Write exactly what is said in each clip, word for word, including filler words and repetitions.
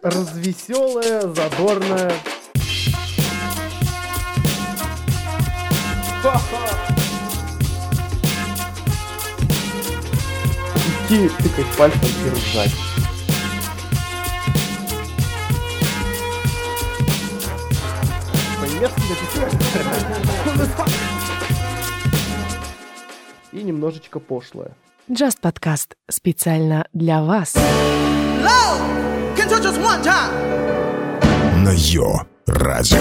развеселая, задорная. Идти тыкать пальцем и ржать. И немножечко пошлое. Just подкаст специально для вас. На Йо Радио.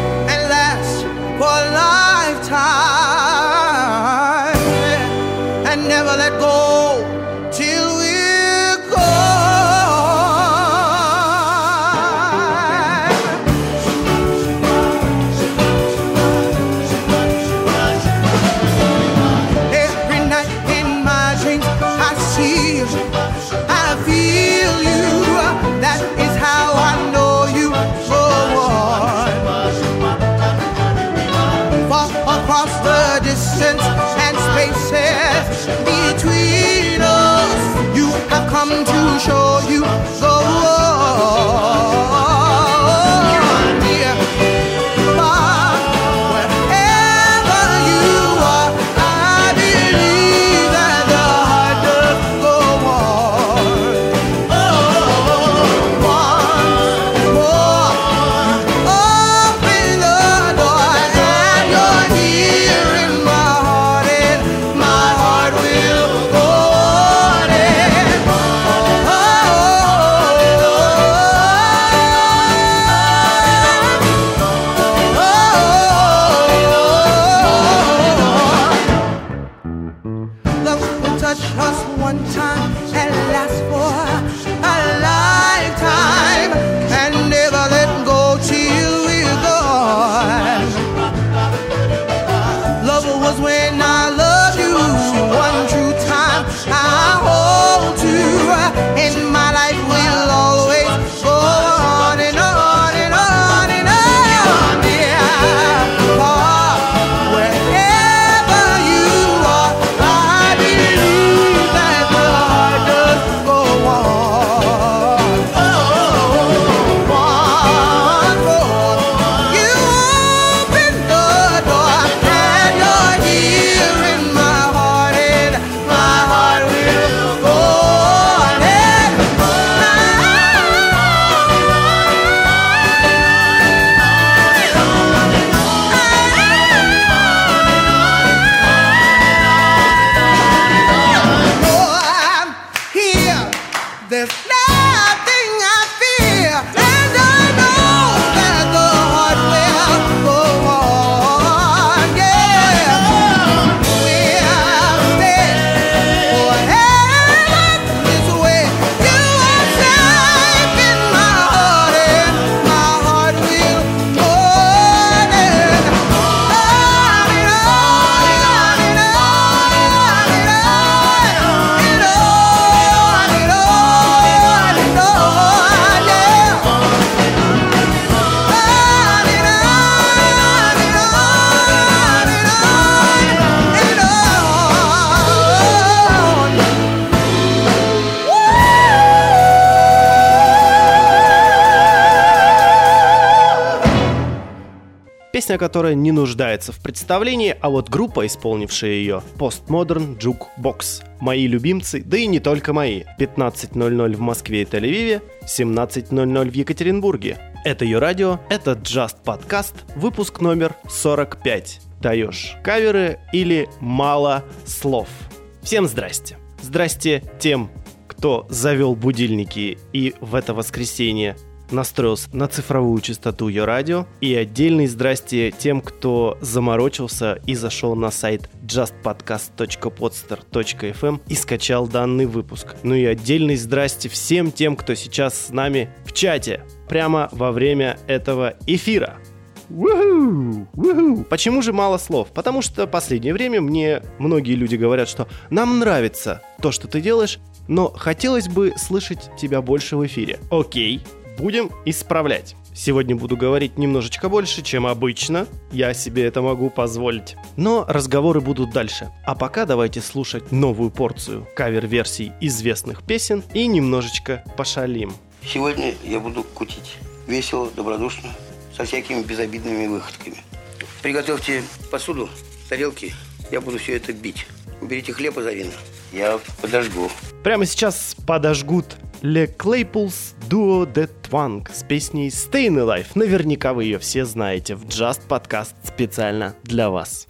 To show you the Песня, которая не нуждается в представлении, а вот группа, исполнившая ее, Postmodern Jukebox. Мои любимцы, да и не только мои. пятнадцать ноль ноль в Москве и Тель-Авиве, семнадцать ноль ноль в Екатеринбурге. Это Йо Радио, это Just подкаст, выпуск номер сорок пять. Даешь каверы или мало слов? Всем здрасте. Здрасте тем, кто завел будильники и в это воскресенье настроился на цифровую частоту Йо Радио. И отдельный здрасте тем, кто заморочился и зашел на сайт джаст подкаст точка подстер точка эф эм и скачал данный выпуск. Ну и отдельный здрасте всем тем, кто сейчас с нами в чате, прямо во время этого эфира. Уху, уху. Почему же мало слов? Потому что в последнее время мне многие люди говорят, что нам нравится то, что ты делаешь, но хотелось бы слышать тебя больше в эфире. Окей, будем исправлять. Сегодня буду говорить немножечко больше, чем обычно. Я себе это могу позволить. Но разговоры будут дальше. А пока давайте слушать новую порцию кавер-версий известных песен и немножечко пошалим. Сегодня я буду кутить. Весело, добродушно, со всякими безобидными выходками. Приготовьте посуду, тарелки. Я буду все это бить. Уберите хлеб из авина. Я подожгу. Прямо сейчас подожгут Le Claypools Duo The Twang с песней Stayin' Alive. Наверняка вы ее все знаете. В Just Podcast специально для вас.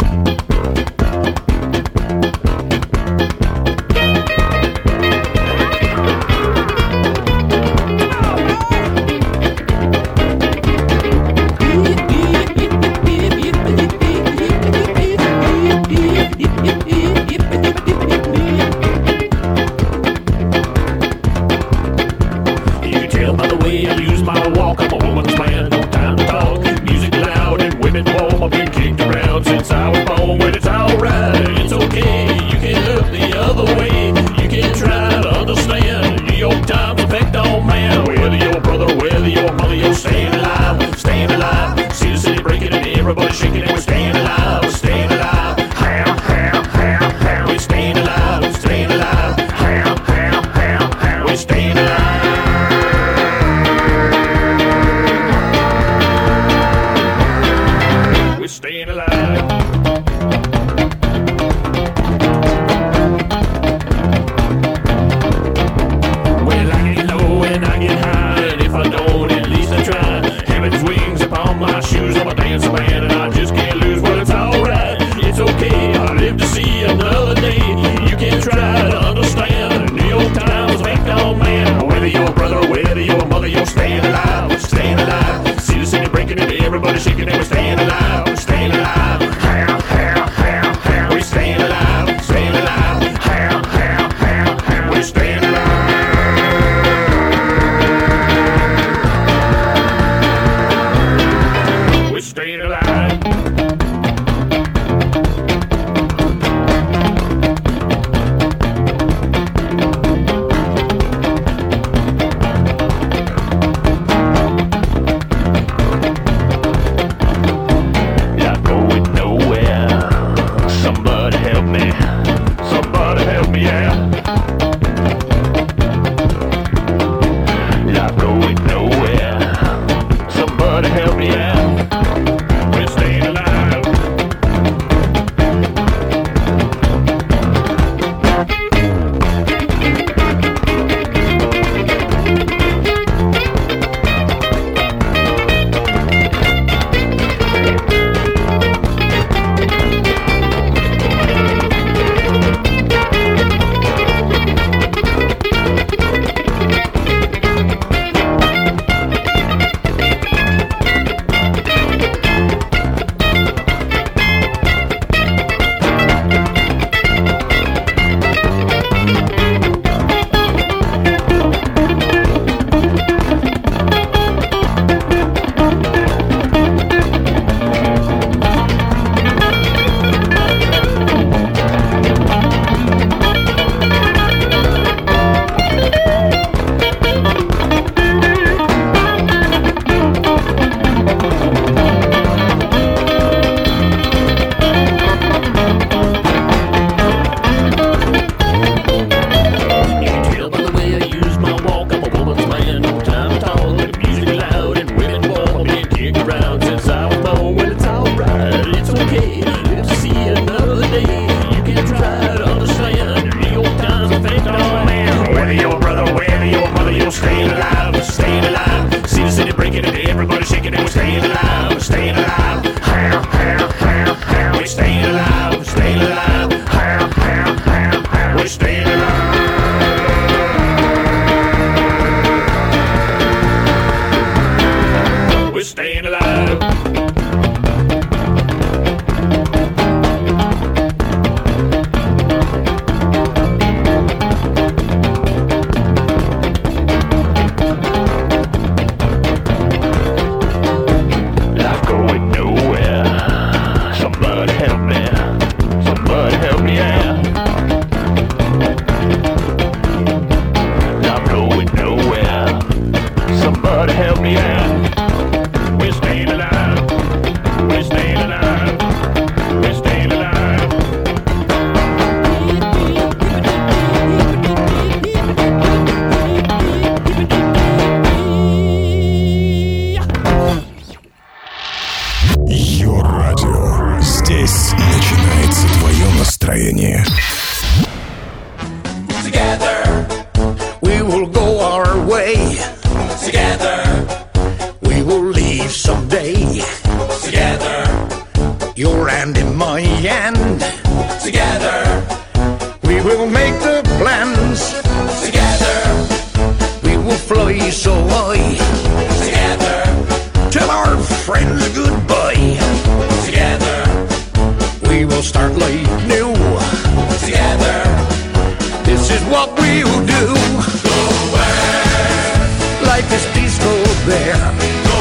someday. Together. Your hand in my hand. Together. We will make the plans. Together. We will fly so high. Together. Tell our friends goodbye. Together. We will start life new. Together. This is what we'll do. Go where life is peaceful there. Go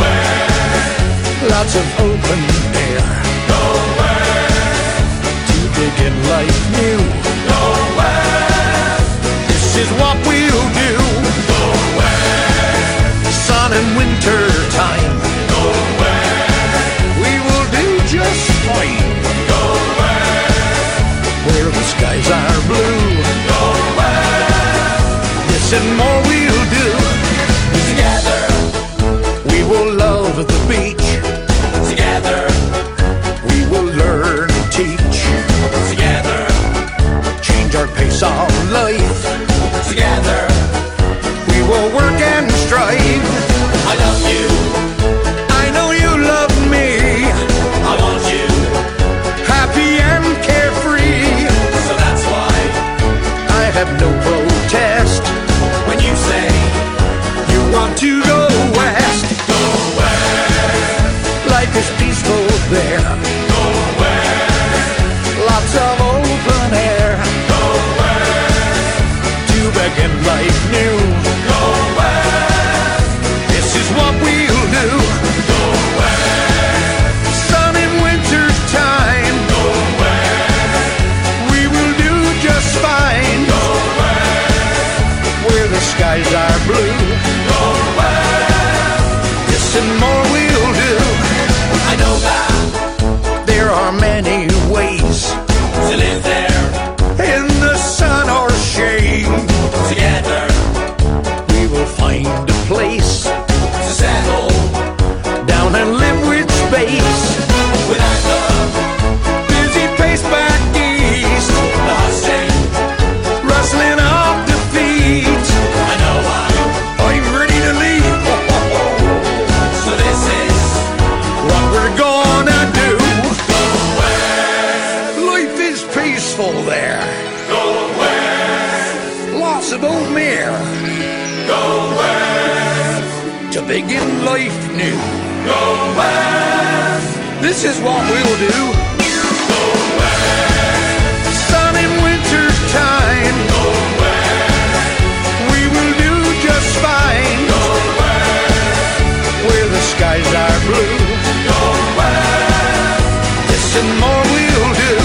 where lots of open air. Go where to begin life new. Go where this is what we'll do. Go where sun and winter time. Go where we will do just fine. Go where where the skies are blue. Go where this and more we'll do. Together we will love the beach. Together we will learn and teach. Together change our pace of life. Together we will work and strive. I love you. I know you love me. I want you happy and carefree. So that's why I have no protest when you say you want to go west. Go where life is peaceful there. Go where lots of open air. Go where to begin life new. Go where this is what we'll do. Go where sun in winter's time. Go where we will do just fine. Go where where the skies are blue. Go where this and more we'll do. I know that there are many ways to live there, in the sun or shade. Together we will find a place to settle down and live with space. Without the busy pace back east, the hustling, rustling of defeat. I know I'm, I'm ready to leave. So this is what we're gonna do. Go where life is peaceful there. Go where lots of old mare. Go where to begin life new. Go where this is what we'll do. Go where sun in winter time. Go where we will do just fine. Go where where the skies are blue. Go where this and more we'll do.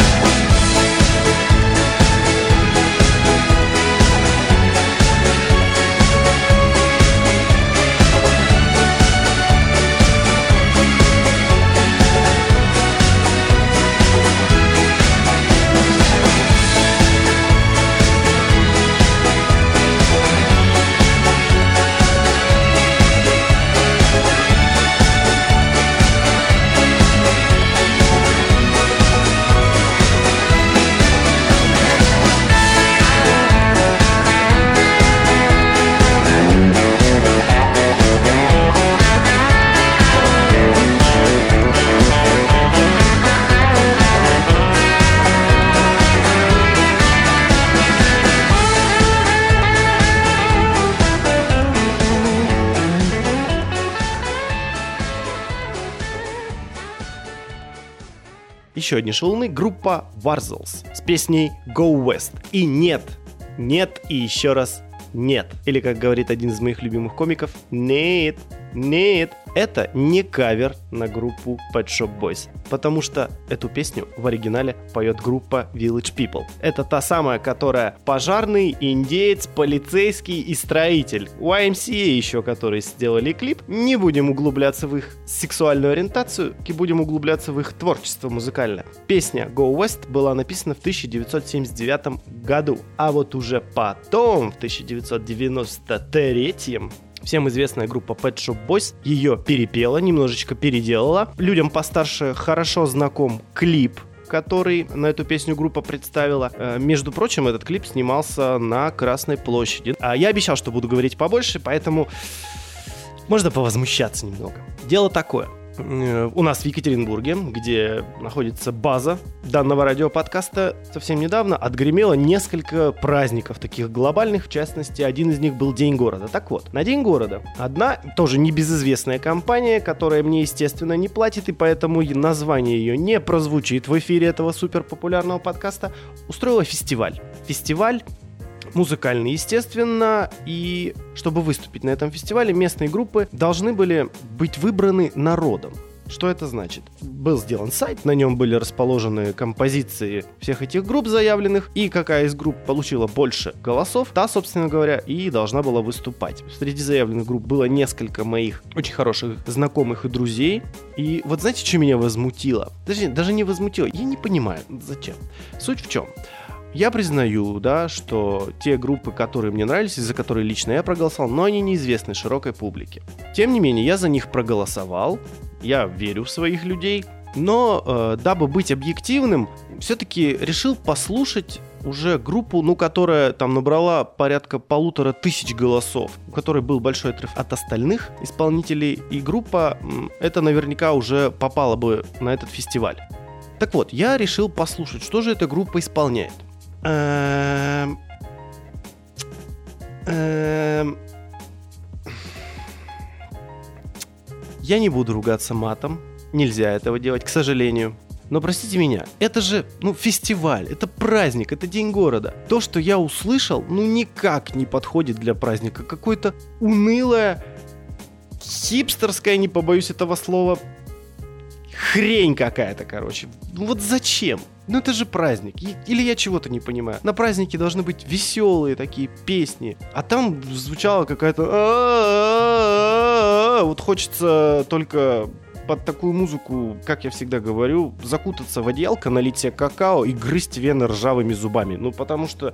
Еще одни шалуны — группа Warzols с песней Go West. И нет, нет и еще раз нет. Или, как говорит один из моих любимых комиков, нет, нет. Это не кавер на группу Pet Shop Boys, потому что эту песню в оригинале поет группа Village People. Это та самая, которая пожарный, индеец, полицейский и строитель. уай эм си эй еще, которые сделали клип. Не будем углубляться в их сексуальную ориентацию, и будем углубляться в их творчество музыкальное. Песня Go West была написана в тысяча девятьсот семьдесят девятом году, а вот уже потом, в тысяча девятьсот девяносто третьем, всем известная группа Pet Shop Boys ее перепела, немножечко переделала. Людям постарше хорошо знаком клип, который на эту песню группа представила. Между прочим, этот клип снимался на Красной площади. А я обещал, что буду говорить побольше, поэтому Можно повозмущаться немного. Дело такое. У нас в Екатеринбурге, где находится база данного радиоподкаста, совсем недавно отгремело несколько праздников таких глобальных. В частности, один из них был День города. Так вот, на День города одна, тоже небезызвестная компания, которая мне, естественно, не платит, и поэтому название ее не прозвучит в эфире этого суперпопулярного подкаста, устроила фестиваль. Фестиваль музыкальный, естественно, и чтобы выступить на этом фестивале, местные группы должны были быть выбраны народом. Что это значит? Был сделан сайт, на нем были расположены композиции всех этих групп заявленных, и какая из групп получила больше голосов, та, собственно говоря, и должна была выступать. Среди заявленных групп было несколько моих очень хороших знакомых и друзей, и вот знаете, что меня возмутило? Даже, даже не возмутило, я не понимаю, зачем. Суть в чем? Я признаю, да, что те группы, которые мне нравились, и за которые лично я проголосовал, но они неизвестны широкой публике. Тем не менее, я за них проголосовал, я верю в своих людей, но, э, дабы быть объективным, все-таки решил послушать уже группу, ну, которая там набрала порядка полутора тысяч голосов, у которой был большой отрыв от остальных исполнителей, и группа, это наверняка уже попала бы на этот фестиваль. Так вот, я решил послушать, что же эта группа исполняет. Эм... Эм... Я не буду ругаться матом. Нельзя этого делать, к сожалению. Но простите меня, это же, ну, фестиваль, это праздник, это День города. То, что я услышал, ну, никак не подходит для праздника. Какое-то унылое, хипстерское, не побоюсь этого слова, хрень какая-то, короче. Ну вот зачем? Ну это же праздник. Или я чего-то не понимаю. На празднике должны быть веселые такие песни. А там звучала какая-то... Вот хочется только под такую музыку, как я всегда говорю, закутаться в одеялко, налить себе какао и грызть вены ржавыми зубами. Ну потому что...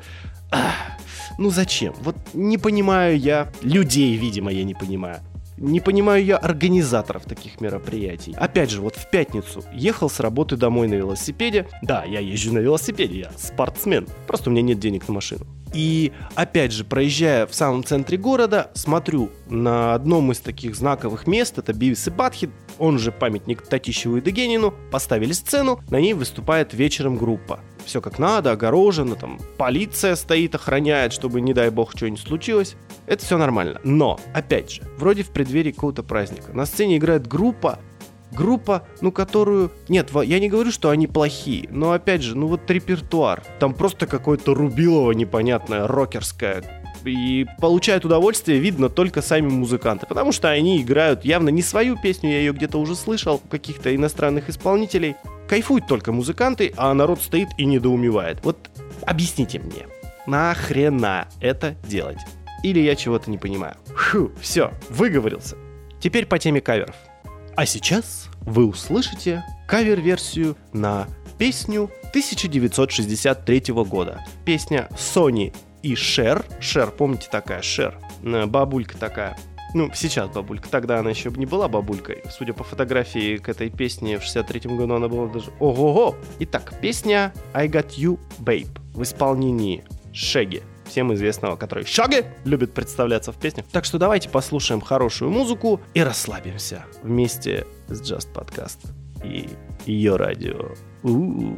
Ну зачем? Вот не понимаю я людей, видимо, я не понимаю. Не понимаю я организаторов таких мероприятий. Опять же, вот в пятницу ехал с работы домой на велосипеде. Да, я езжу на велосипеде, я спортсмен. Просто у меня нет денег на машину. И опять же, проезжая в самом центре города, смотрю на одном из таких знаковых мест, это Бивис и Батхед, он же памятник Татищеву и Дегенину, поставили сцену, на ней выступает вечером группа. Все как надо, огорожено, там полиция стоит, охраняет, чтобы, не дай бог, что-нибудь случилось. Это все нормально. Но, опять же, вроде в преддверии какого-то праздника. На сцене играет группа, группа, ну, которую... Нет, я не говорю, что они плохие, но, опять же, ну, вот репертуар. Там просто какое-то рубилово непонятное, рокерское. И получают удовольствие, видно, только сами музыканты. Потому что они играют явно не свою песню, я ее где-то уже слышал, у каких-то иностранных исполнителей. Кайфуют только музыканты, а народ стоит и недоумевает. Вот объясните мне, нахрена это делать? Или я чего-то не понимаю? Фу, все, выговорился. Теперь по теме каверов. А сейчас вы услышите кавер-версию на песню тысяча девятьсот шестьдесят третьего года. Песня Sony и Cher. Cher, помните, такая Cher? Бабулька такая. Ну, сейчас бабулька. Тогда она еще не была бабулькой. Судя по фотографии к этой песне, в шестьдесят третьем году она была даже... Ого-го! Итак, песня I Got You, Babe в исполнении Шеги, всем известного, который Шаги любит представляться в песнях. Так что давайте послушаем хорошую музыку и расслабимся вместе с Just Podcast и ее радио. У-у-у.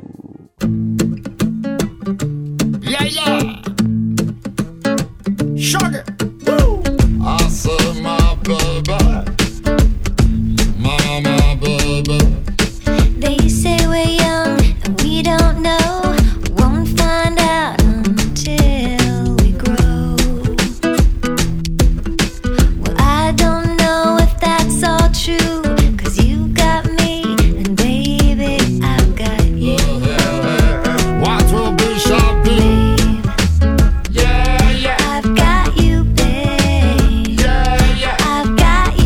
Yeah-yeah! Sugar! I said my baby, my, my baby. They say we're young and we don't know. Won't find out until we grow. Well, I don't know if that's all true, 'cause you got me and baby, I've got you. What will be shall be. Yeah, yeah. I've got you, babe. Yeah, yeah. I've got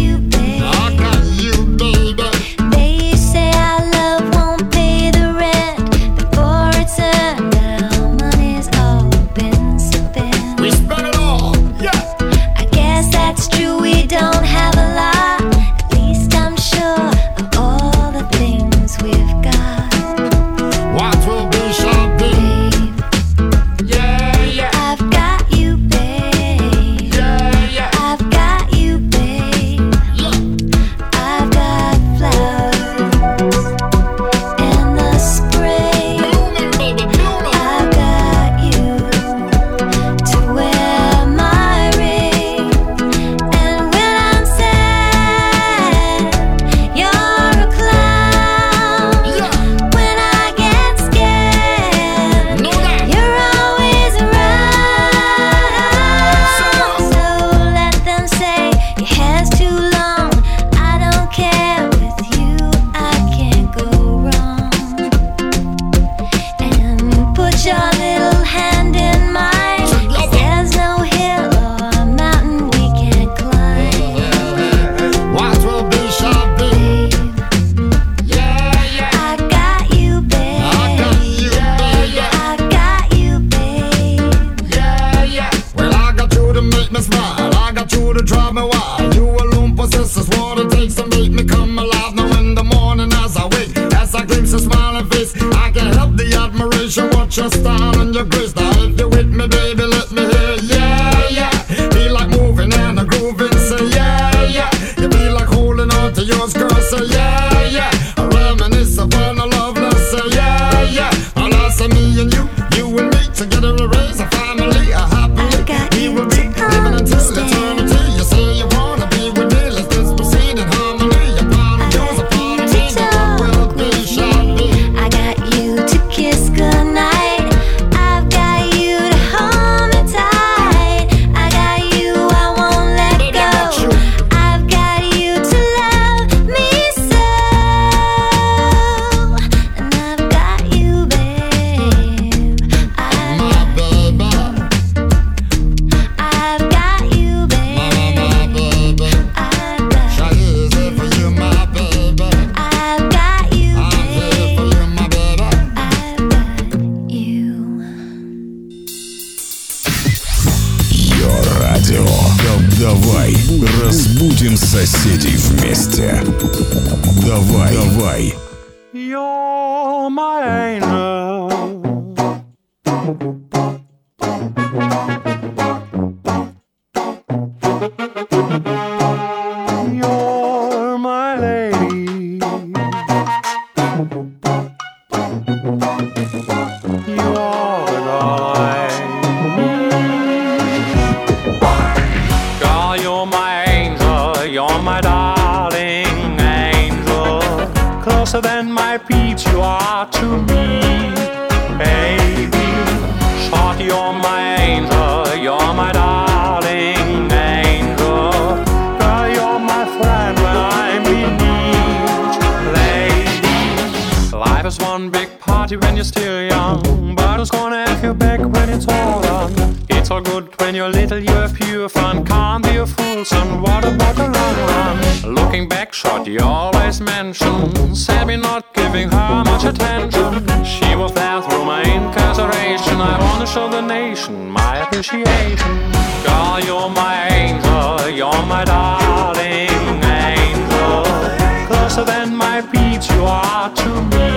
me come alive now in the morning as I wake. As I glimpse your smiling face, I can't help the admiration. Watch your style and your grace. Now if you're with me, baby, let me hear. Yeah, yeah. Feel like moving and a grooving. Say yeah, yeah. You feel like holding on to yours, girl. Say yeah, yeah. I reminisce upon a loveless. Say yeah, yeah. And I say me and you, you and me together we raise a family, a happily. We will be living until eternity. You say you wanna be with me, let's just proceed in harmony. Your part of yours, a part of me, the world will be, shall be. I got you to kiss goodnight. I've got you to hold me tight. I got you, I won't let go. I've got you to love me so. And I've got you, babe. I've, My baby, I've got you, babe. my baby. I've got, Shall is it for you, my baby? I've got you, I'm here for babe. you, my baby. I've got you. Йо радио. Да- Давай разбудим соседей вместе. Давай, давай. You're my angel. You're my lady. You're the girl I need. Girl, you're my angel. You're my darling angel. Closer than my peach you are to me, baby. Short, you're my angel. You're my darling angel. Girl, you're my friend when I'm in need, lady. Life is one big party when you're still young, but who's gonna have your back when it's all done? It's all good when you're little, you have pure fun. Can't be a fool, son, what about the long run? Looking back, short, you always mention said me not giving her much attention. She was there through my incarceration. I wanna show the nation my appreciation. Girl, you're my angel. You're my darling angel. Closer than my peach you are to me,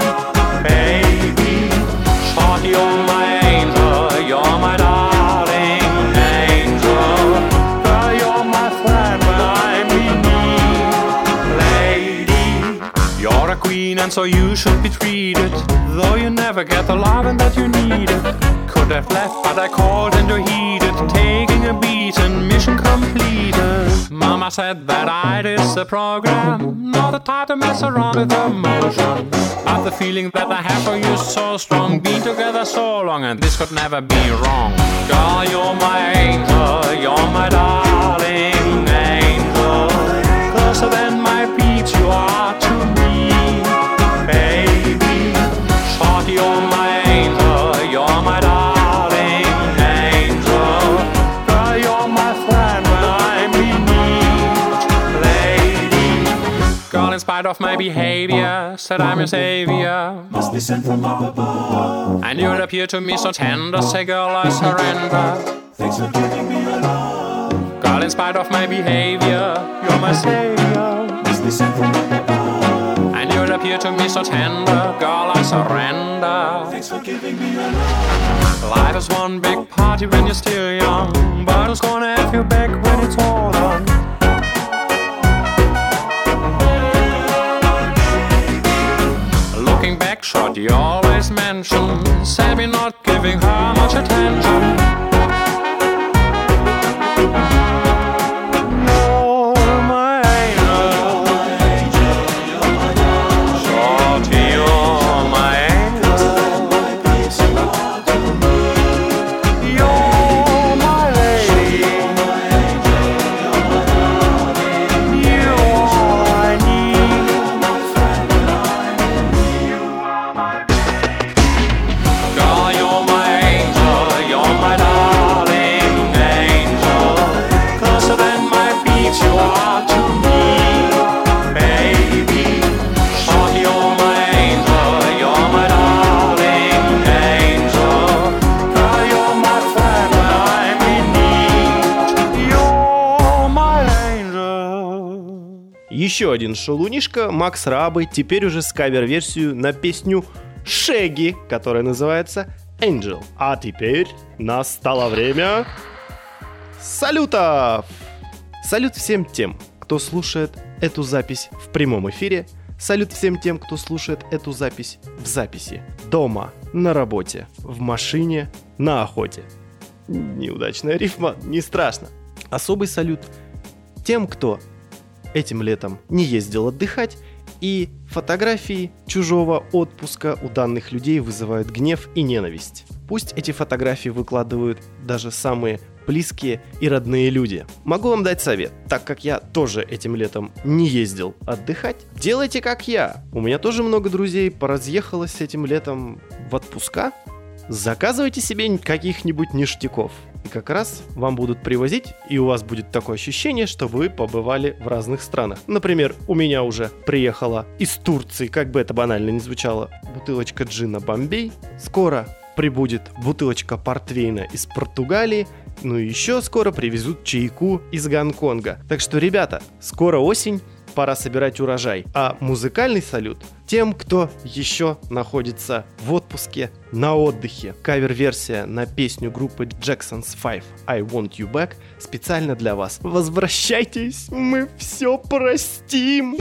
baby. Short, you're my angel. You're my darling angel. Girl, you're my friend when I'm in need, lady. You're a queen and so you should be treated, though you never get the loving that you needed. Could have left but I called and you're heated, taking a beating, mission completed. Mama said that I did the program, not the type to mess around with emotion. But the feeling that I have for you is so strong, been together so long and this could never be wrong. Girl, you're my angel, you're my darling angel. Closer than my peach you are to me, baby. Short, you're my angel, you're my darling angel. Girl, you're my friend when I'm in need, lady. Girl, in spite of my behavior, said I'm your savior. Must be sent from up above. And you'll appear to me so tender, say girl, I surrender. Thanks for giving me your love. Girl, in spite of my behavior, you're my savior. Must be sent from up above. And you'll appear to me so tender, girl, I surrender. Thanks for giving me your love. Life is one big party when you're still young, but who's gonna have your back when it's all done? Looking back, short, you always mention said me not giving her much attention. You're my angel. Shorty, you're my angel. You're my lady. You are all I need. Girl, you're my angel. You're my Еще один шалунишка, Макс Рабы, теперь уже с кавер-версию на песню Шеги, которая называется Angel. А теперь настало время салютов! Салют всем тем, кто слушает эту запись в прямом эфире. Салют всем тем, кто слушает эту запись в записи. Дома, на работе, в машине, на охоте. Неудачная рифма, не страшно. Особый салют тем, кто этим летом не ездил отдыхать, и фотографии чужого отпуска у данных людей вызывают гнев и ненависть. Пусть эти фотографии выкладывают даже самые близкие и родные люди. Могу вам дать совет, так как я тоже этим летом не ездил отдыхать. Делайте как я. У меня тоже много друзей поразъехалось этим летом в отпуска. Заказывайте себе каких-нибудь ништяков. И как раз вам будут привозить, и у вас будет такое ощущение, что вы побывали в разных странах. Например, у меня уже приехала из Турции, как бы это банально ни звучало, бутылочка джина Бомбей. Скоро прибудет бутылочка портвейна из Португалии. Ну и еще скоро привезут чайку из Гонконга. Так что, ребята, скоро осень, пора собирать урожай. А музыкальный салют тем, кто еще находится в отпуске, на отдыхе. Кавер-версия на песню группы Jackson's Five I Want You Back специально для вас. Возвращайтесь, мы все простим.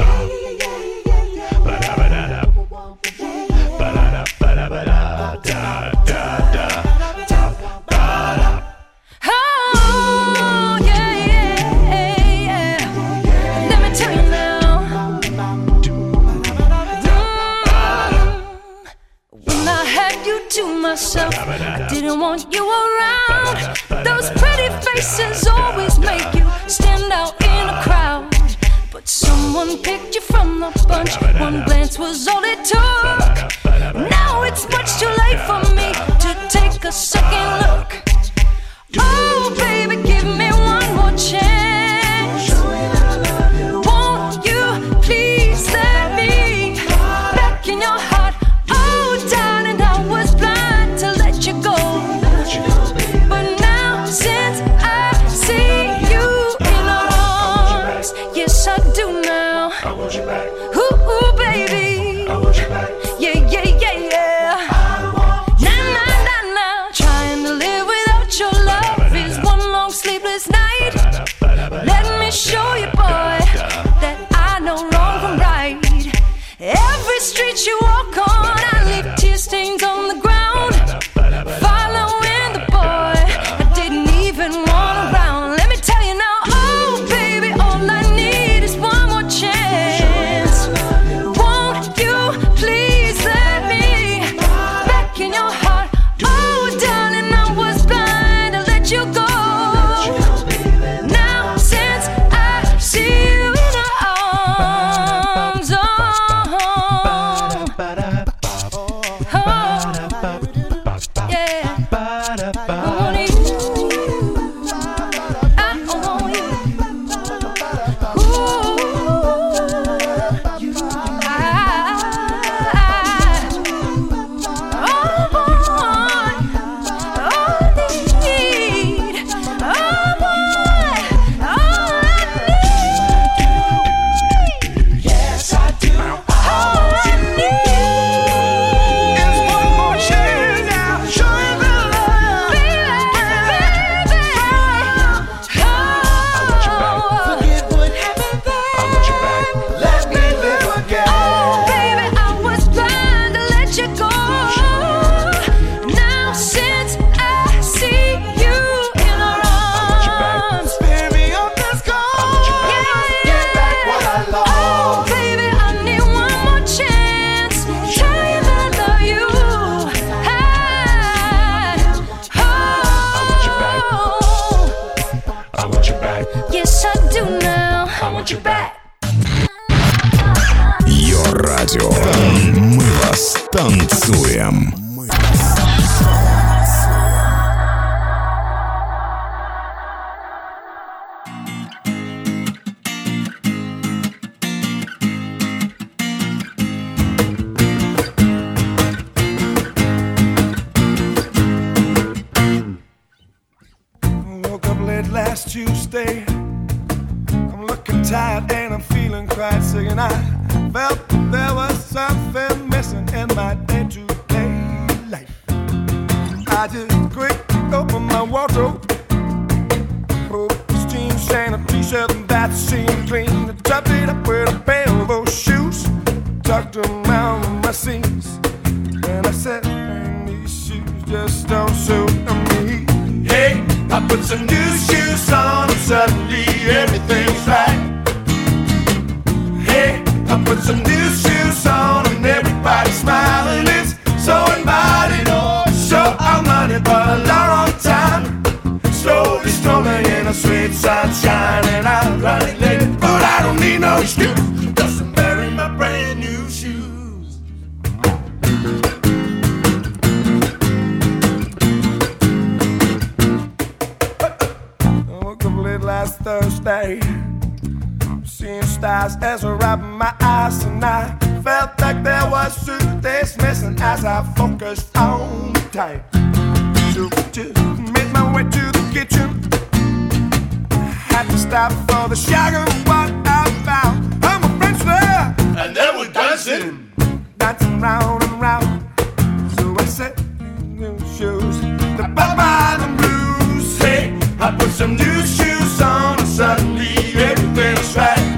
To myself, I didn't want you around. Those pretty faces always make you stand out in a crowd. But someone picked you from the bunch. One glance was all it took. Now it's much too late for me to take a second look. Oh, baby, give me one more chance. Won't you please let me back in your heart? Oh, darling, I was blind to let you go. But now, since I see you in arms, yes, I do now. I want you back. Ooh, ooh, baby. I want you back. Yeah, yeah, yeah, yeah. Nah, nah, nah, nah. Trying to live without your love is one long sleepless night. Let me show you, boy, that I know wrong from right. Every street you walk on, I leave tear stains on the ground. Following the boy I didn't even want around. Let me tell you now, oh baby, all I need is one more chance. Won't you please let me back in your heart? Oh darling, I was blind to let you go. Now since I see you in her arms, oh, Йо-радио. Мы вас танцуем. Woke up late last Tuesday. I'm looking tired and I'm feeling quite sick, and I felt there was something missing in my day-to-day life. I just quickly opened my wardrobe, pulled this jeans and a t-shirt and that seemed clean. I topped it up with a pair of those shoes, tucked them around my seams, and I said, man, these shoes just don't suit me. Hey, I put some new shoes on and suddenly everything's right. Hey, I put some new shoes on and everybody's smiling. It's so inviting, oh, so I'm running for a long, long time. Slowly strolling in the sweet sunshine, and I'm running late, but I don't need no excuse. Just I'm wearing my brand new shoes. I woke up late last Thursday, seeing stars as I wrapped my eyes, and I felt like there was suitcase missing as I focused on the time. So just made my way to the kitchen, had to stop for the shower. What I found, all my friends there, and they were dancing, dancing round and round. So I said, new shoes, the Baba and blues. Hey, I put some new shoes on and suddenly everything's right.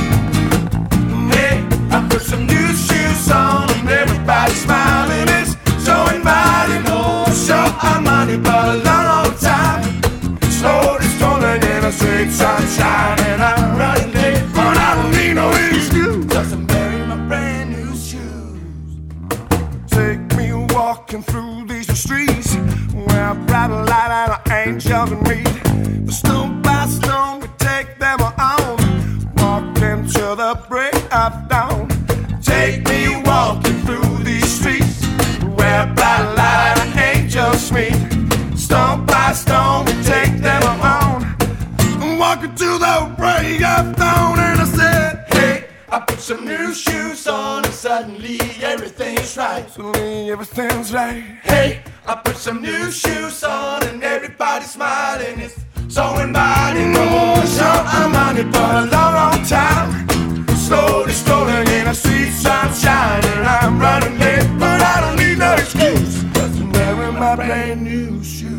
Hey, I put some new shoes on and everybody's smiling. It's so inviting, oh, so I'm running for a long, long time. Slowly strolling in the sweet sunshine, and I'm running late, but I don't need no excuse. Just I'm wearing my brand new shoes. Take me walking through these streets where a bright light and an angel can meet. Stone by stone we take them on, walking till the break of dawn. Take me walking through these streets where a bright light and angels meet. Stone by stone we take them on, walking to the break of dawn. And I said, hey, I put some new shoes on and suddenly everything's right. Suddenly everything's right. Hey, I put some new shoes on and everybody's smiling. It's so inviting, oh, so I'm on it for a long, long time. Slowly strolling in a sweet sunshine, and I'm running late, but I don't need no excuse. Cause I'm wearing my brand new shoes.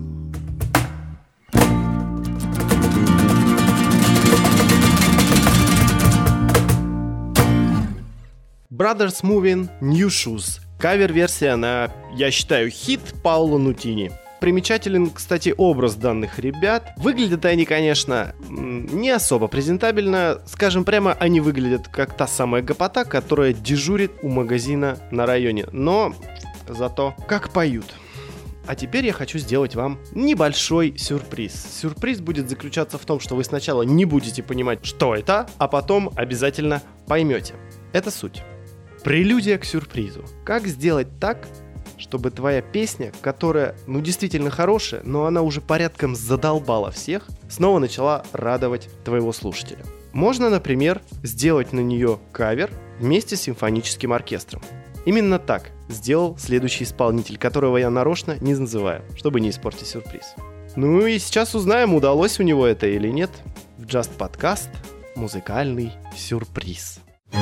Brothers Moving New Shoes. Кавер-версия на, я считаю, хит Паоло Нутини. Примечателен, кстати, образ данных ребят. Выглядят они, конечно, не особо презентабельно. Скажем прямо, они выглядят как та самая гопота, которая дежурит у магазина на районе. Но зато как поют. А теперь я хочу сделать вам небольшой сюрприз. Сюрприз будет заключаться в том, что вы сначала не будете понимать, что это, а потом обязательно поймете. Это суть. Прелюдия к сюрпризу. Как сделать так, чтобы твоя песня, которая, ну, действительно хорошая, но она уже порядком задолбала всех, снова начала радовать твоего слушателя. Можно, например, сделать на нее кавер вместе с симфоническим оркестром. Именно так сделал следующий исполнитель, которого я нарочно не называю, чтобы не испортить сюрприз. Ну и сейчас узнаем, удалось у него это или нет. В Just Podcast музыкальный сюрприз.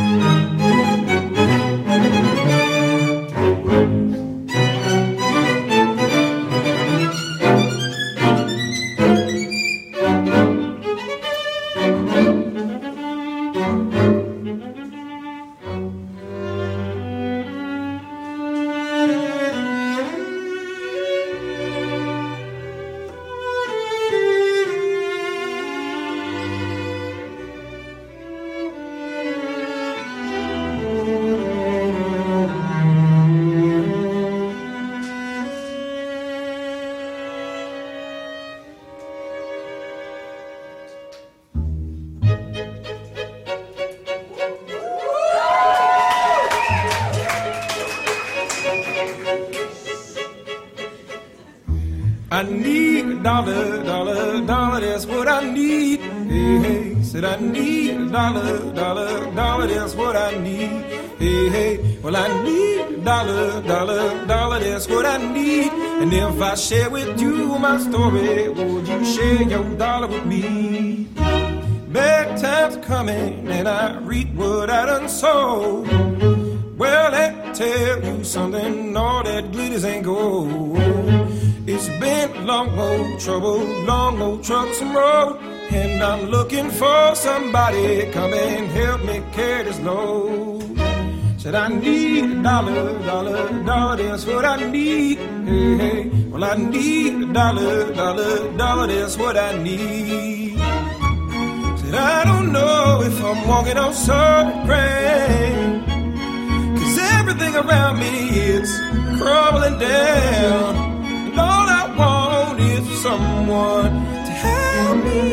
I need a dollar, dollar, dollar, that's what I need. Hey, hey, said I need a dollar, dollar, dollar, that's what I need. Hey, hey, well I need a dollar, dollar, dollar, that's what I need. And if I share with you my story, would you share your dollar with me? bad times are coming and I reap what I done sow. Well, I tell you something, all that glitters ain't gold. It's been long old trouble, long old troublesome road, and I'm looking for somebody come and help me carry this load. Said I need a dollar, dollar, dollar, that's what I need. Hey, hey. Well, I need a dollar, dollar, dollar, that's what I need. Said I don't know if I'm walking on solid ground, 'cause everything around me is crumbling down, and all I want is someone to help me.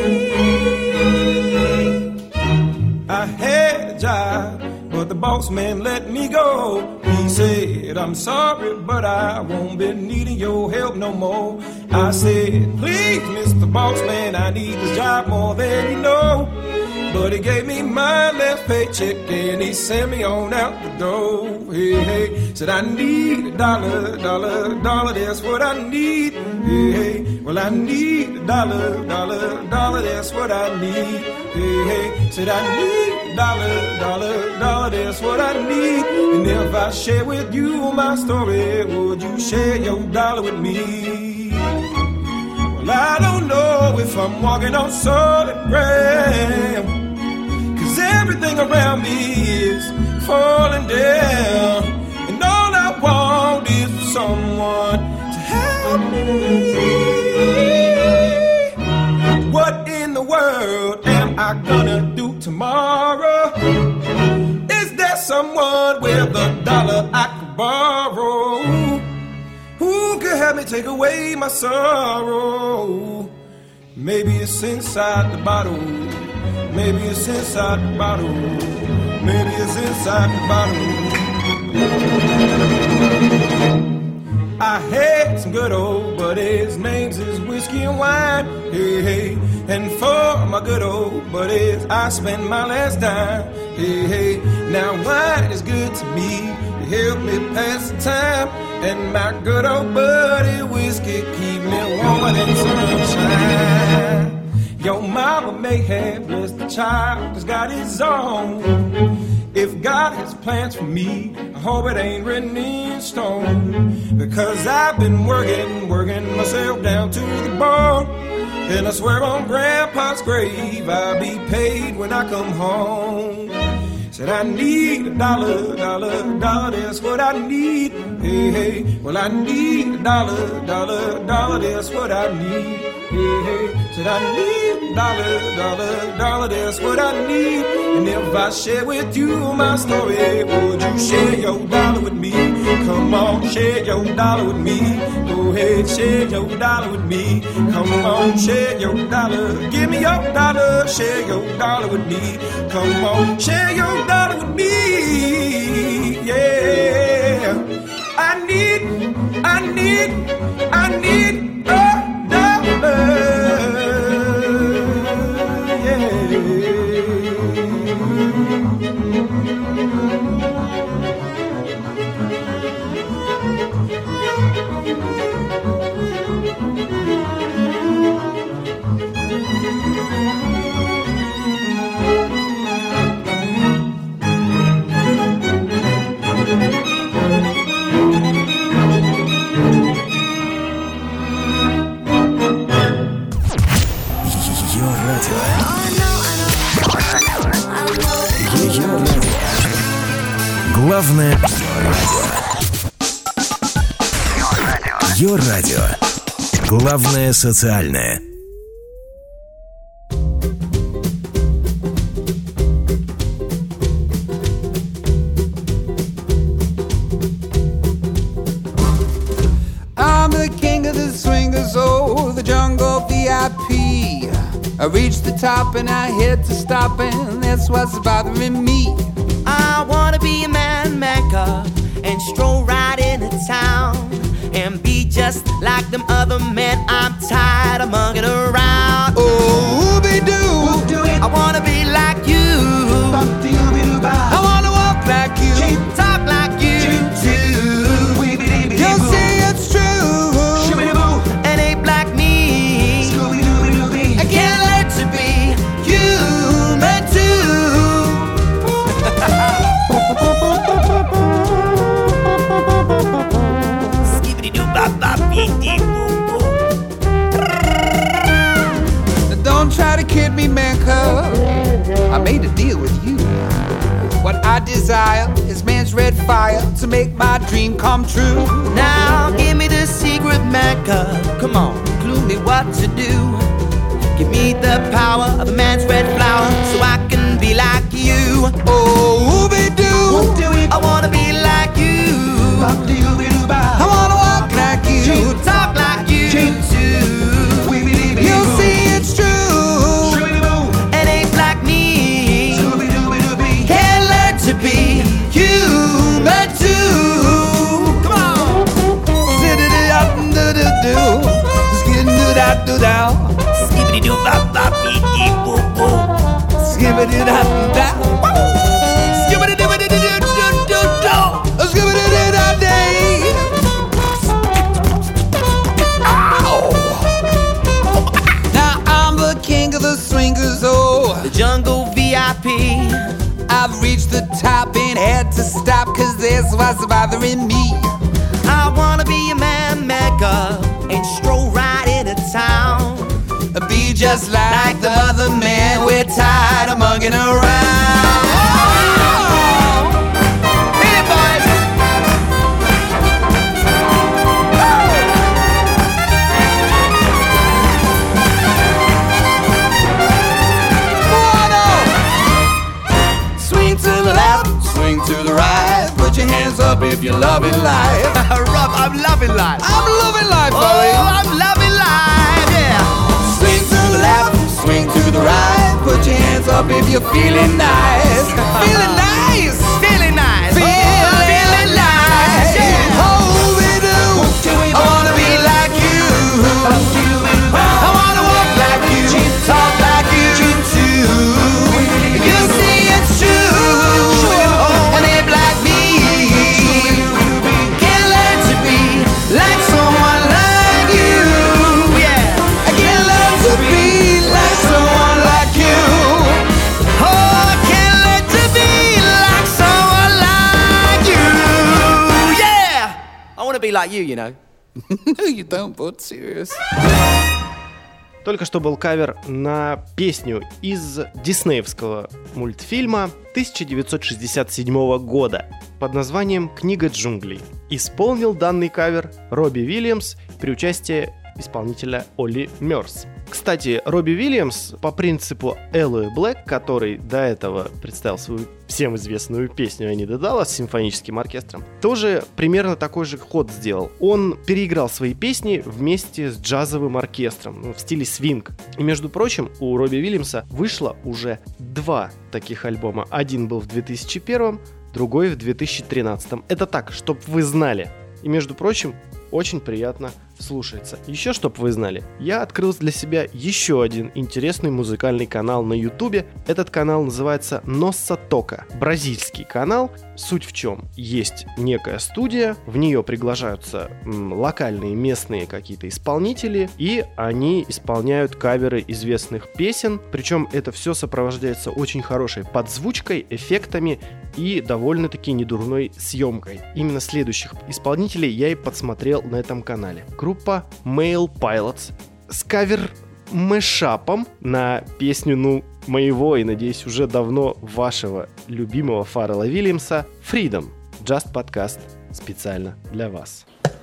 I had a job, but the boss man let me go. He said, I'm sorry, but I won't be needing your help no more. I said, please, Mister Boss Man, I need this job more than you know. But he gave me my last paycheck and he sent me on out the door. Hey, hey, said I need a dollar, dollar, dollar, that's what I need. Hey, hey, well I need a dollar, dollar, dollar, that's what I need. Hey, hey, said I need a dollar, dollar, dollar, that's what I need. And if I share with you my story, would you share your dollar with me? Well, I don't know if I'm walking on solid ground, 'cause everything around me is falling down, and all I want is someone to help me. What in the world am I gonna do tomorrow? Is there someone with a dollar I could borrow? Who could help me take away my sorrow? Maybe it's inside the bottle. Maybe it's inside the bottle. Maybe it's inside the bottle. I had some good old buddies, names is whiskey and wine. Hey, hey, and for my good old buddies, I spent my last dime. Hey, hey, now wine is good to me, it help me pass the time. And my good old buddy whiskey keep me warmer than sunshine. Your mama may have blessed the child that's got his own. If God has plans for me, I hope it ain't written in stone. Because I've been working, working myself down to the bone. And I swear on Grandpa's grave, I'll be paid when I come home. Said I need a dollar, dollar, dollar, that's what I need. Hey, hey, well I need a dollar, dollar, dollar, that's what I need. Hey, hey, said I need a dollar, dollar, dollar, that's what I need. And if I share with you my story, would you share your dollar with me? Come on, share your dollar with me. Go ahead, share your dollar with me. Come on, share your dollar. Give me your dollar, share your dollar with me. Come on, share your dollar with me. Yeah, I need, I need, I need a dollar. Главное Йо-радио. Главное социальное. I'm the king of the swingers, oh, the jungle V I P. I reached the top and I hit to stop, and that's what's bothering me. I wanna be a man maker and stroll right into town and be just like them other men. I'm tired of mugging around. Oh, they do. I wanna be like you. I wanna walk like you, talk like you too. You'll see it's true. And ain't like me. I can't learn to be you. I desire is man's red fire to make my dream come true. Now give me the secret Mecca. Come on, clue me what to do. Give me the power of a man's red flower so I can be like you. Oh, ooby-doo, I wanna be like you. I wanna walk like you, talk like you too. You'll see it's true. And apes like me can learn to be human too. Come on. Do-do-do-do-do-do. Skid-do-da-do-dow. Skibbity-doo-bop-bop-bee-boo-boo. Skibbity-da-do-da. Skibbity-doo-doo-doo-doo-doo. Skibbity-doo-da-day. Now I'm the king of the swingers, oh, the jungle V I P. I've reached the top and had to stop, cause this was bothering me. I wanna be a man Mecca and stroll right into town. Be just like, like the other man, we're tired of mugging around. Oh! Hit it, boys! Swing to the left, swing to the right. Put your hands up if you're loving life. Rob, I'm loving life. I'm loving life, oh, buddy. I'm loving life, yeah. Swing to the left, swing to the right. Put your hands up if you're feeling nice. Feeling nice. Feeling nice. Feeling, oh, feeling nice. Yeah. Oh, we do. I wanna be like you. I wanna walk like you. Talk like you too. You see it's true. And they like me can learn to be like someone like you. Yeah. I can learn to be like someone like you. Oh, I can learn to be like someone like you. Yeah. I wanna be like you, you know. No, you don't, but serious. Только что был кавер на песню из диснеевского мультфильма тысяча девятьсот шестьдесят седьмого года под названием «Книга джунглей». Исполнил данный кавер Робби Уильямс при участии исполнителя Олли Мёрс. Кстати, Робби Уильямс по принципу Элои Блэк, который до этого представил свою всем известную песню «Они Даллас» с симфоническим оркестром, тоже примерно такой же ход сделал. Он переиграл свои песни вместе с джазовым оркестром, ну, в стиле свинг. И, между прочим, у Робби Уильямса вышло уже два таких альбома. Один был в две тысячи первом, другой в две тысячи тринадцатом. Это так, чтоб вы знали. И, между прочим, очень приятно слушается. Еще, чтоб вы знали, я открыл для себя еще один интересный музыкальный канал на Ютубе. Этот канал называется Ноssa Тока. Бразильский канал. Суть в чем? Есть некая студия, в нее приглашаются м, локальные местные какие-то исполнители, и они исполняют каверы известных песен. Причем это все сопровождается очень хорошей подзвучкой, эффектами и довольно-таки недурной съемкой. Именно следующих исполнителей я и подсмотрел на этом канале. Группа Male Pilots с кавер-мэшапом на песню, ну, моего и, надеюсь, уже давно вашего любимого Фаррелла Вильямса «Freedom». Just подкаст специально для вас.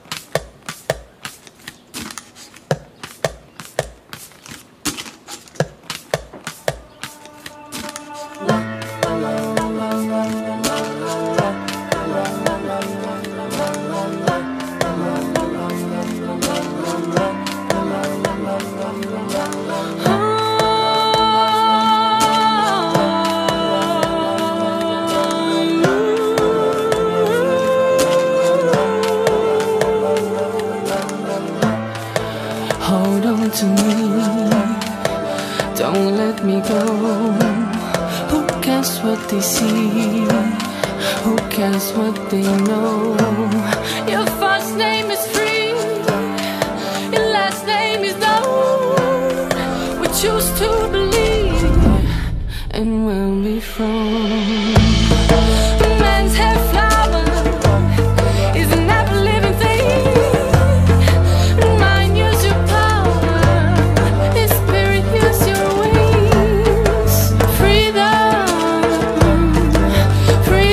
They see, who cares what they know? Your first name is free, your last name is known. We choose to believe, and we'll be from. Man's hair flower is an apple living thing. Mind use your power, his spirit use your wings. Freedom. Free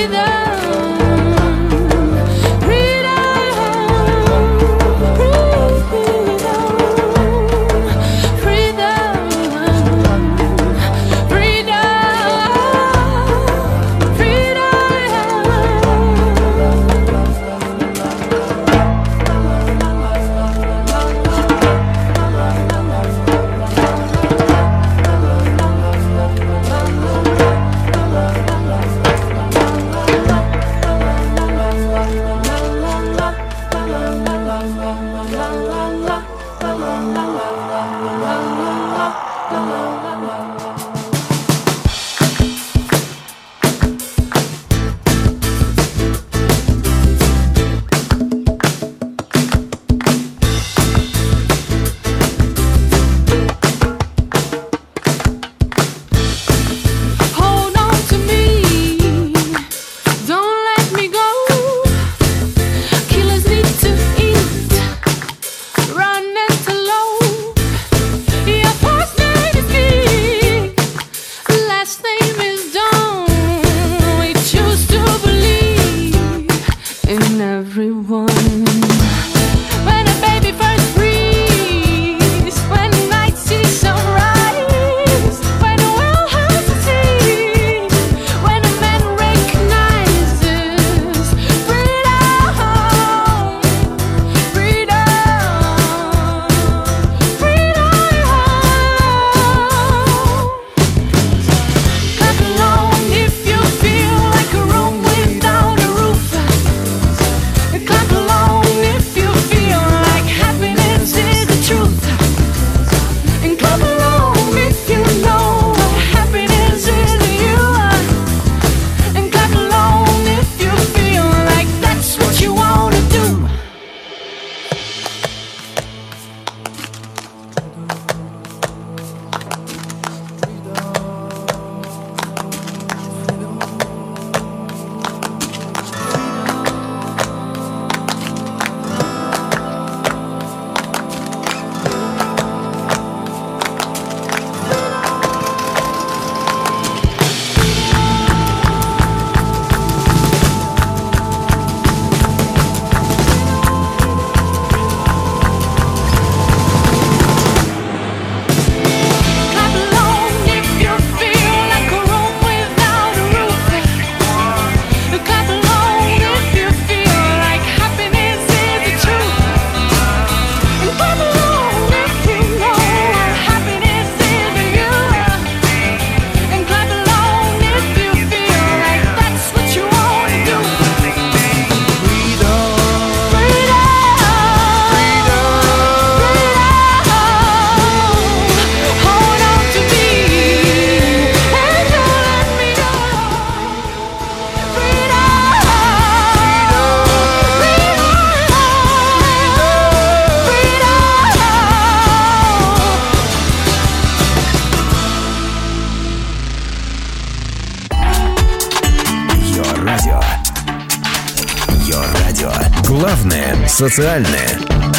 Главное – социальное.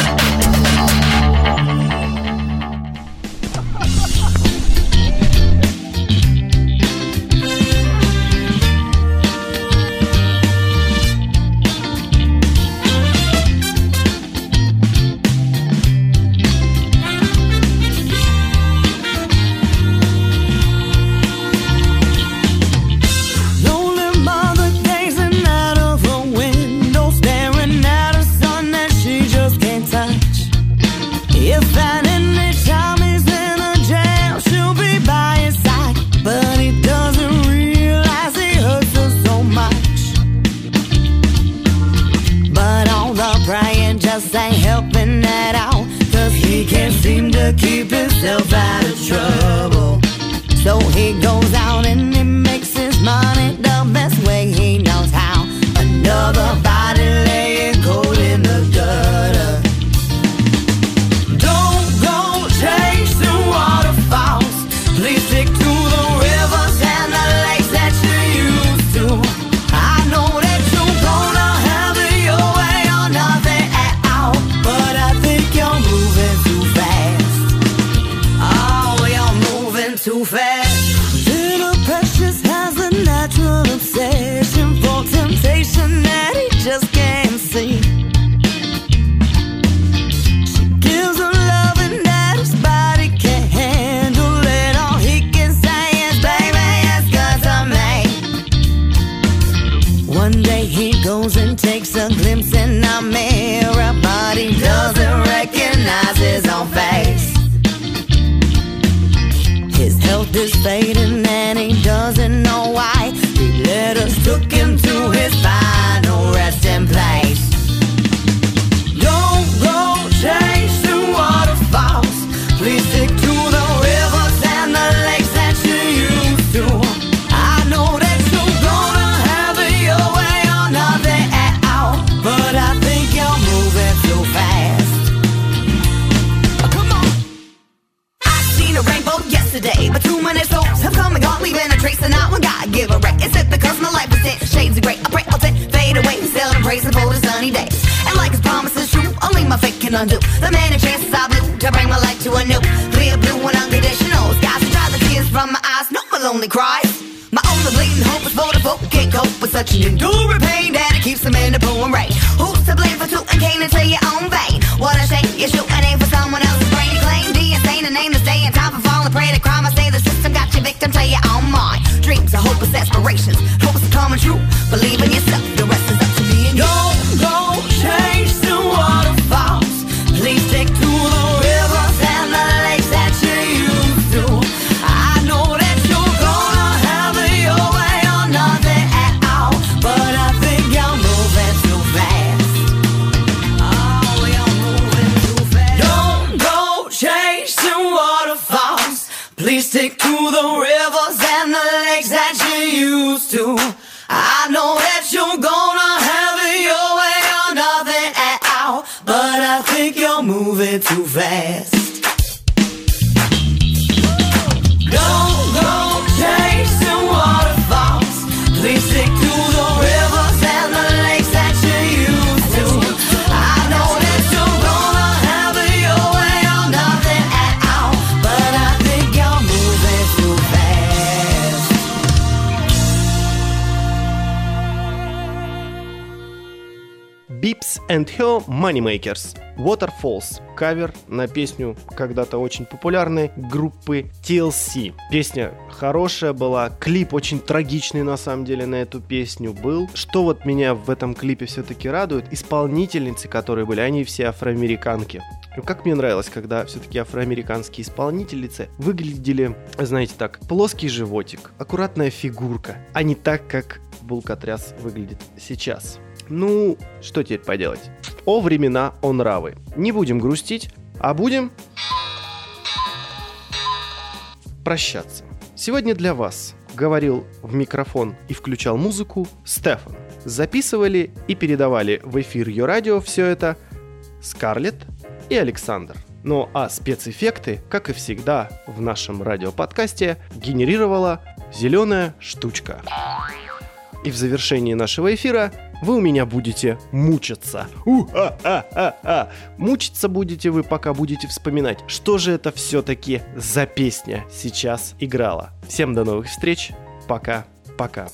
Keep himself out of trouble. So he goes out and he makes his money the best way he knows how. Another body laying cold in the gutter. Don't go chasing waterfalls. Please stick to the rivers and the lakes that you used to. I know that you're gonna have it your way or nothing at all, but I think you're moving too fast. Too fast. Little Precious has a natural obsession for temptation that he just can't see. She gives him loving that his body can't handle it. All he can say is, baby, it's good to me. One day he goes and takes a glimpse in a mirror, but he doesn't recognize his own face. His health is fading and he doesn't know why. Three letters took him to his final resting place. Don't go chasing waterfalls. Please stick to the rivers and the lakes that you used to. I know that you're gonna have it your way or nothing at all, but I think you're moving too fast. Oh, come on. I seen a rainbow yesterday, but too many souls have come and gone, leaving a trace, and not one God give a wreck. Is it because my life is in shades of grey? I pray I'll take fade away, seldom praising for the sunny days. And like his promises true, only my fate can undo the many chances I blew to bring my life to a new clear blue and unconditional skies to dry the tears from my eyes. No more lonely cries. My only bleeding hope is for the folk who can't cope with such an enduring pain that it keeps them in the pouring rain. Who's to blame for tooting cane into your own vein? What a shame, you shoot an aim for someone else's brain. You claim the insane and name the stay in time for falling prey to crime. I say the system got your victim till you're on mine. Dreams are hopeless aspirations, hopes are coming true. Believe in yourself, the rest is up to being you. Don't go chasing waterfalls. Please stick to the rivers and the lakes that you used to. I know that you're gonna have it your way or nothing at all, but I think you're moving too fast. Oh, you're moving too fast. Don't go chasing waterfalls. Please stick to the rivers and the lakes that you used to. I know that you're gonna have it your way or nothing at all, but I think you're moving too fast. Don't go chasing waterfalls. Please stick to the rivers and the lakes that you used to. I know that you're gonna have it your way or nothing at all, but I think you're moving too fast. Bips and Her Moneymakers. Waterfalls. Кавер на песню когда-то очень популярной группы ти эл си. Песня хорошая была, клип очень трагичный на самом деле на эту песню был. Что вот меня в этом клипе все-таки радует, исполнительницы, которые были, они все афроамериканки. Как мне нравилось, когда все-таки афроамериканские исполнительницы выглядели, знаете так, плоский животик, аккуратная фигурка, а не так, как Булкатряс выглядит сейчас. Ну, что теперь поделать? О времена, о нравы. Не будем грустить, а будем прощаться. Сегодня для вас говорил в микрофон и включал музыку Стефан. Записывали и передавали в эфир Ее радио все это Скарлетт и Александр. Ну а спецэффекты, как и всегда в нашем радиоподкасте, генерировала зеленая штучка. И в завершении нашего эфира вы у меня будете мучиться. У-а-а-а-а. Мучиться будете вы, пока будете вспоминать, что же это все-таки за песня сейчас играла. Всем до новых встреч. Пока-пока.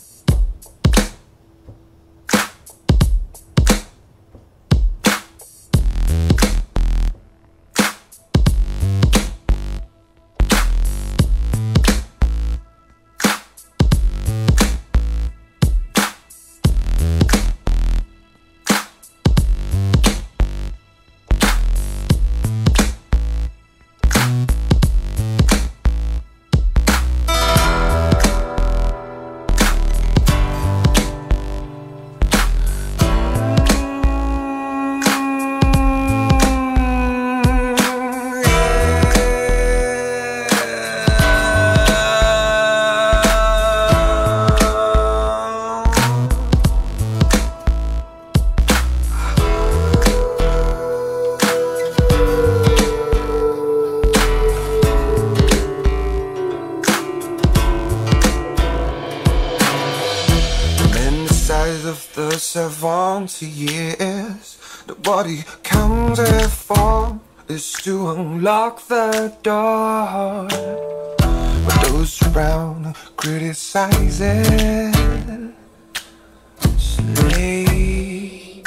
Seventy years, the body comes at form is to unlock the door. But those around criticize it. Slay.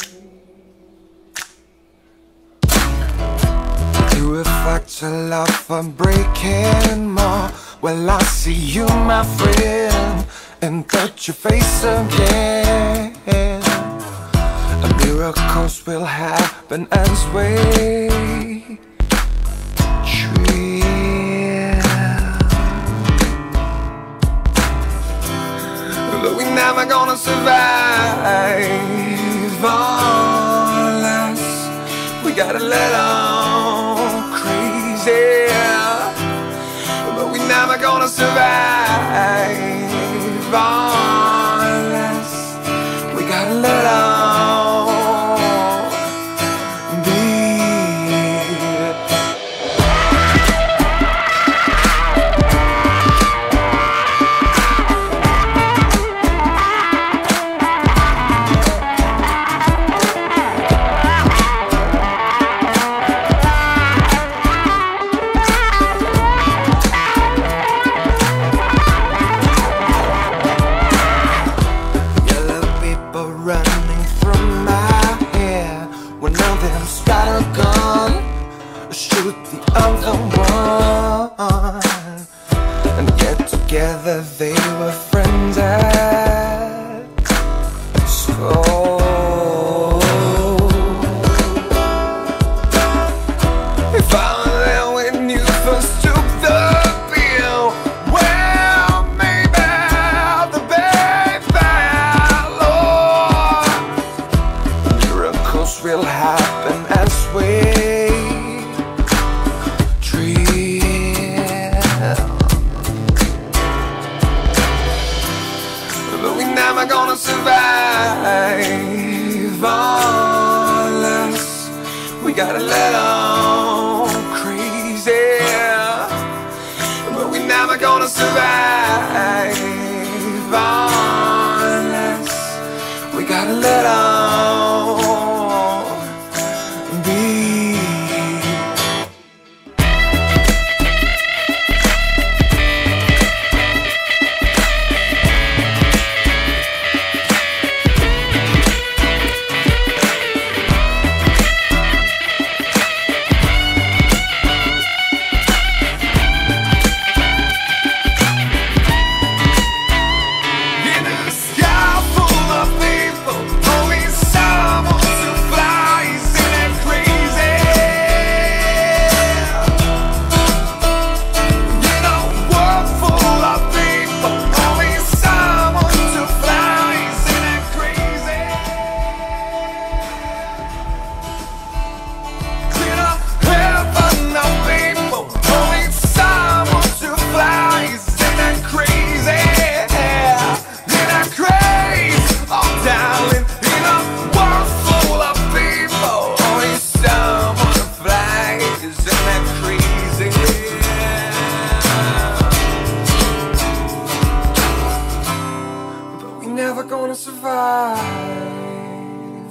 You reflect a love for breaking more. Well, I see you, my friend, and touch your face again. Miracles will happen as we dream. But we never gonna survive unless we got a little crazy. But we never gonna survive unless we got a little. Together they were friends at school. If I were there when you first took the pill, well, maybe the bed fell. Miracles will happen as we never gonna survive unless we got a little crazy. But we never gonna survive unless we got a little beat. Never gonna survive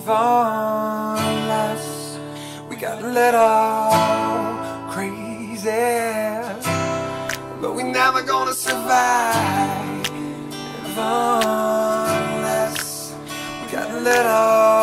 unless we got a little crazy. But we're never gonna survive unless we got a little